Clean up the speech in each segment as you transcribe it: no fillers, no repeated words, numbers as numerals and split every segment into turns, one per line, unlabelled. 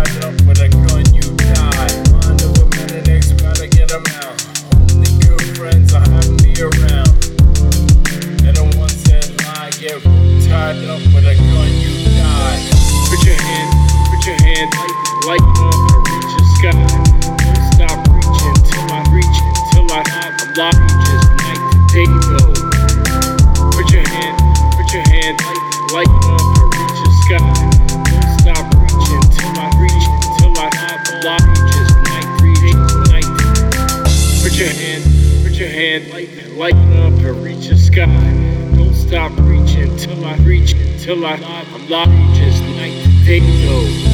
tied up with a gun, you die. Mind of a minute, X, gotta get them out. Only good friends I have me around. And the ones that lie get tied up with a gun, you die. Put your hand, light up and reach the sky. Don't stop reaching till I reach, till I have a lot. Just night to day go. Put your hand, light up and reach the sky. Don't stop reaching till I reach, till I have a lot. Just night, night. Put your hand, light up and reach the sky. Don't stop reaching till I reach, till I have a lot. Just night to day go.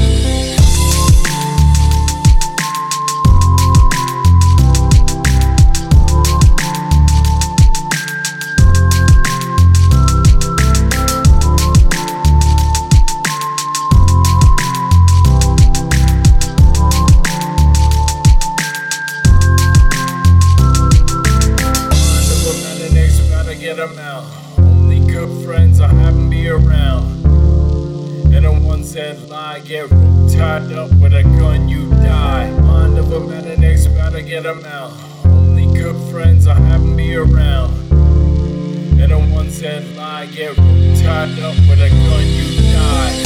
Get them out. Only good friends I have me around. And the ones that lie get tied up with a gun, you die. Mind of a man and X, gotta get them out. Only good friends I have me around. And the ones that lie get tied up with a gun, you die.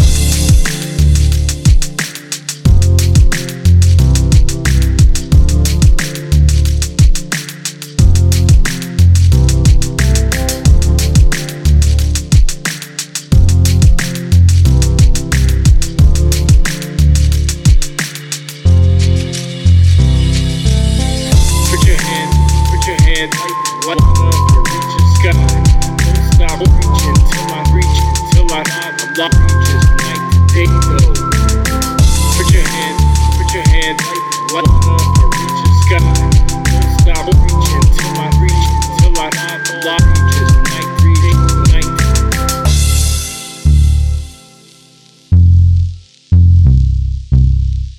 Light up and reach the sky. Don't stop reaching till I reach, till I have a lot. Just night to day go. Put your hand, light up and reach the sky.